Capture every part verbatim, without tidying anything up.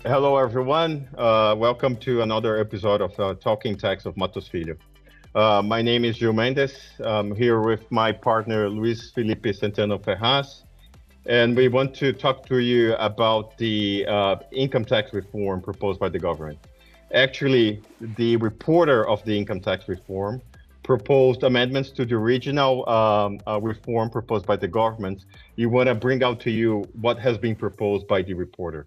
Hello, everyone. Uh, welcome to another episode of uh, Talking Tax of Matos Filho. Uh, my name is Gil Mendes. I'm here with my partner, Luis Felipe Centeno Ferraz, and we want to talk to you about the uh, income tax reform proposed by the government. Actually, the reporter of the income tax reform proposed amendments to the original um, uh, reform proposed by the government. We want to bring out to you what has been proposed by the reporter.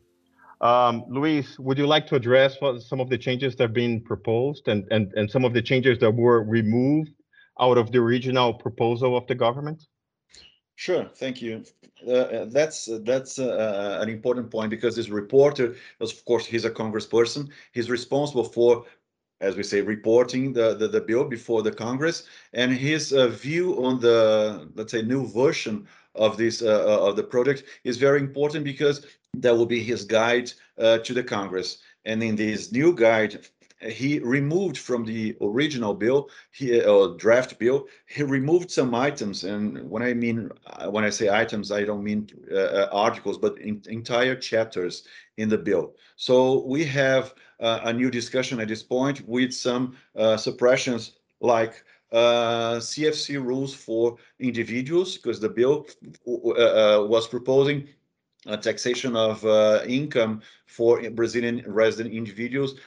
Um, Luis, would you like to address what, some of the changes that have been proposed and, and, and some of the changes that were removed out of the original proposal of the government? Sure, thank you. Uh, uh, that's uh, that's uh, uh, an important point because this reporter, of course, he's a congressperson. He's responsible for, as we say, reporting the, the, the bill before the Congress, and his uh, view on the, let's say, new version of this uh, uh, of the project is very important because that will be his guide uh, to the Congress. And in this new guide, he removed from the original bill, he, uh, draft bill, he removed some items. And when I mean, uh, when I say items, I don't mean uh, uh, articles, but in, entire chapters in the bill. So we have uh, a new discussion at this point with some uh, suppressions like uh, C F C rules for individuals, because the bill uh, uh, was proposing uh, taxation of uh, income for Brazilian resident individuals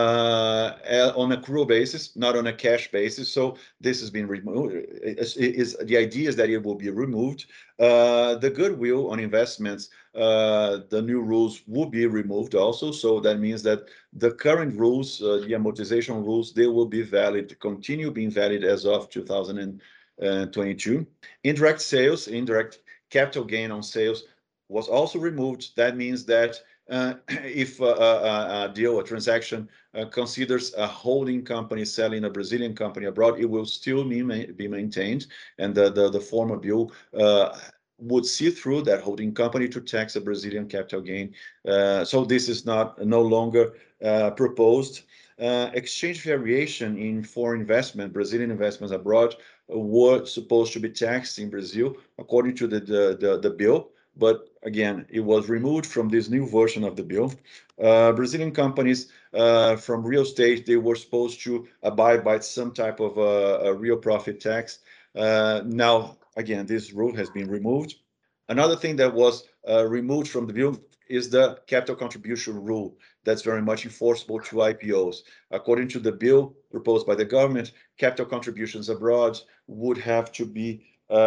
uh, on accrual basis, not on a cash basis. So this has been removed. Is, is the idea is that it will be removed. Uh, the goodwill on investments, uh, the new rules will be removed also. So that means that the current rules, uh, the amortization rules, they will be valid, continue being valid as of two thousand twenty-two. Indirect sales, indirect capital gain on sales was also removed. That means that uh, if a, a, a, deal, a transaction uh, considers a holding company selling a Brazilian company abroad, it will still be, be maintained. And the, the, the former bill uh, would see through that holding company to tax a Brazilian capital gain. Uh, so this is not no longer uh, proposed. Uh, exchange variation in foreign investment, Brazilian investments abroad, were supposed to be taxed in Brazil according to the, the, the, the bill, but again, it was removed from this new version of the bill. Uh, Brazilian companies uh, from real estate, they were supposed to abide by some type of uh, a real profit tax. Uh, now, again, this rule has been removed. Another thing that was uh, removed from the bill is the capital contribution rule that's very much enforceable to I P Os. According to the bill proposed by the government, capital contributions abroad would have to be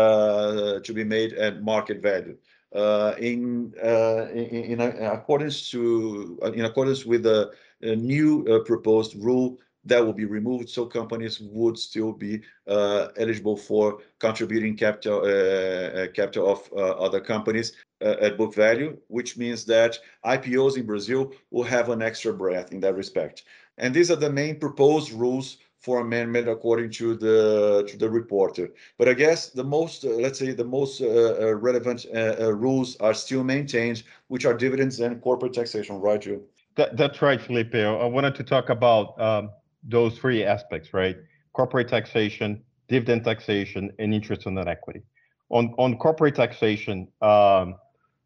uh, to be made at market value. Uh, in, uh, in, in accordance to in accordance with the uh, new uh, proposed rule, that will be removed, so companies would still be uh, eligible for contributing capital uh, uh, capital of uh, other companies uh, at book value, which means that I P Os in Brazil will have an extra breath in that respect. And these are the main proposed rules for amendment according to the to the reporter. But I guess the most, uh, let's say, the most uh, uh, relevant uh, uh, rules are still maintained, which are dividends and corporate taxation, right, Joe? That, that's right, Felipe. I wanted to talk about um, those three aspects, right? Corporate taxation, dividend taxation, and interest on net equity. On, on corporate taxation, um,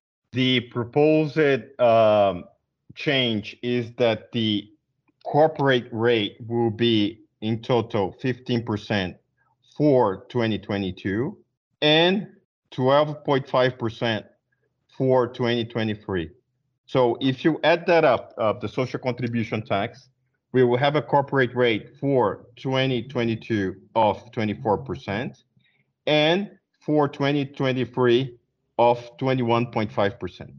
the proposed um, change is that the corporate rate will be in total fifteen percent for twenty twenty-two and twelve point five percent for twenty twenty-three. So if you add that up, uh, the social contribution tax, we will have a corporate rate for twenty twenty-two of twenty-four percent and for twenty twenty-three of twenty-one point five percent.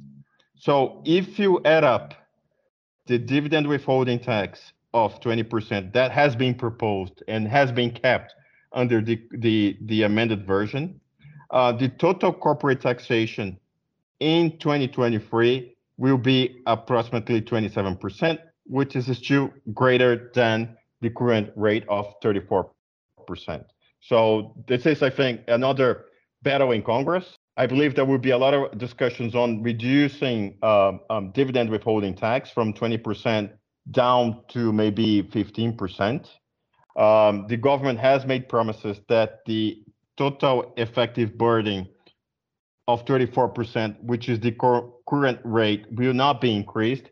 So if you add up the dividend withholding tax of twenty percent that has been proposed and has been kept under the, the, the amended version, uh, the total corporate taxation in twenty twenty-three will be approximately twenty-seven percent, which is still greater than the current rate of thirty-four percent. So this is, I think, another battle in Congress. I believe there will be a lot of discussions on reducing um, um, dividend withholding tax from twenty percent down to maybe fifteen percent. Um, the government has made promises that the total effective burden of thirty-four percent, which is the cur- current rate, will not be increased,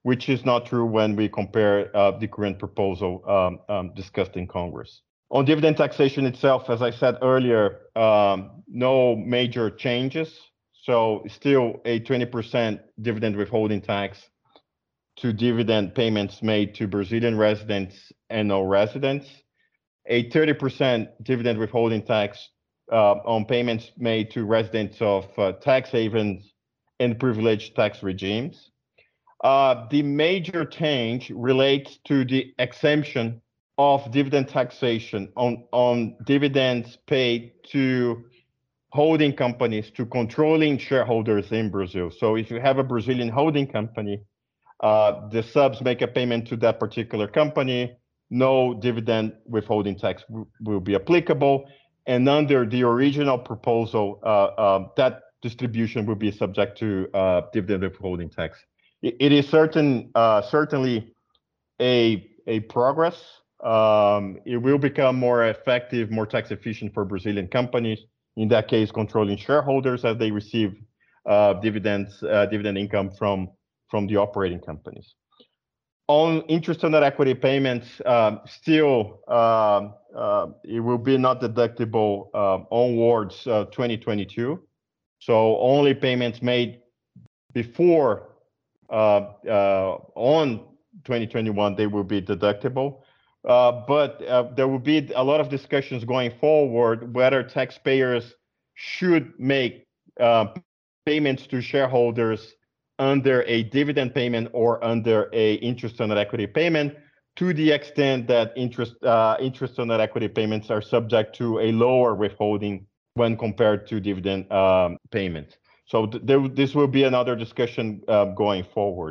which is not true when we compare uh, the current proposal um, um, discussed in Congress. On dividend taxation itself, as I said earlier, um, no major changes. So still a twenty percent dividend withholding tax to dividend payments made to Brazilian residents and non-residents, a thirty percent dividend withholding tax uh, on payments made to residents of uh, tax havens and privileged tax regimes. Uh, the major change relates to the exemption of dividend taxation on, on dividends paid to holding companies, to controlling shareholders in Brazil. So if you have a Brazilian holding company, uh, the subs make a payment to that particular company, no dividend withholding tax will be applicable. And under the original proposal, uh, uh, that distribution will be subject to uh, dividend withholding tax. It, it is certain, uh, certainly a, a progress. Um, it will become more effective, more tax efficient for Brazilian companies. In that case, controlling shareholders as they receive uh, dividends, uh, dividend income from, from the operating companies. On interest on net equity payments, um, still uh, uh, it will be not deductible uh, onwards uh, twenty twenty-two. So only payments made before uh, uh, on twenty twenty-one, they will be deductible. Uh, but uh, there will be a lot of discussions going forward whether taxpayers should make uh, payments to shareholders under a dividend payment or under a interest on net equity payment, to the extent that interest uh, interest on net equity payments are subject to a lower withholding when compared to dividend um, payments. So th there, this will be another discussion uh, going forward.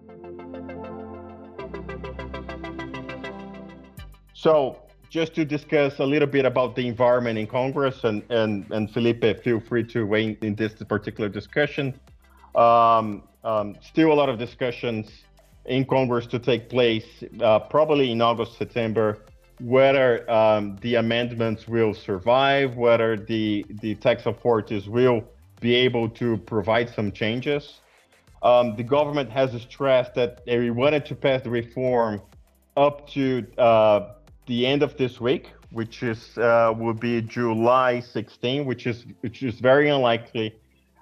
So just to discuss a little bit about the environment in Congress, and, and, and Felipe, feel free to weigh in this particular discussion. Um, um, still a lot of discussions in Congress to take place, uh, probably in August, September, whether um, the amendments will survive, whether the, the tax authorities will be able to provide some changes. Um, the government has stressed that they wanted to pass the reform up to uh, the end of this week, which is uh, will be July sixteenth, which is which is very unlikely.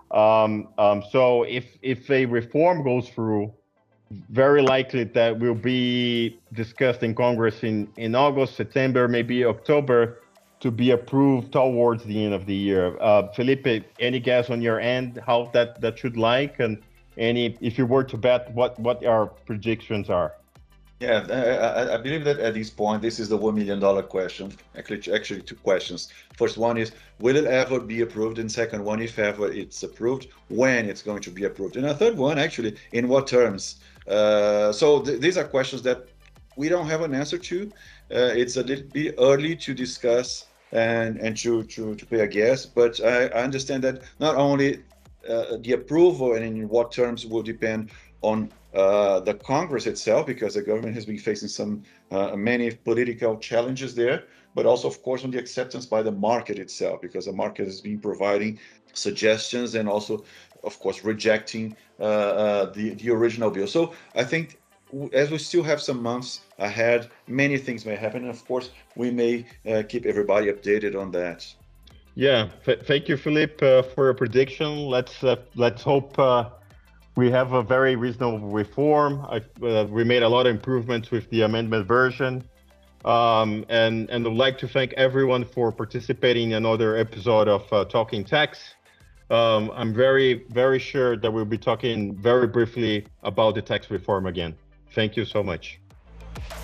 Um, um, so if if a reform goes through, very likely that will be discussed in Congress in in August, September, maybe October, to be approved towards the end of the year. Uh, Felipe, any guess on your end how that that should like, and any, if you were to bet, what what our predictions are? Yeah, I, I believe that at this point, this is the one million dollar question. Actually, actually, two questions. First one is, will it ever be approved? And second one, if ever it's approved, when it's going to be approved? And a third one, actually, in what terms? Uh, so th these are questions that we don't have an answer to. Uh, it's a little bit early to discuss and, and to, to, to pay a guess, but I, I understand that not only uh, the approval and in what terms will depend on uh, the Congress itself, because the government has been facing some uh, many political challenges there, but also, of course, on the acceptance by the market itself, because the market has been providing suggestions and also, of course, rejecting uh, uh, the, the original bill. So I think as we still have some months ahead, many things may happen. And of course, we may uh, keep everybody updated on that. Yeah, thank you, Philippe, uh, for your prediction. Let's uh, let's hope uh, we have a very reasonable reform. I, uh, we made a lot of improvements with the amendment version. Um, and, and I'd like to thank everyone for participating in another episode of uh, Talking Tax. Um, I'm very, very sure that we'll be talking very briefly about the tax reform again. Thank you so much.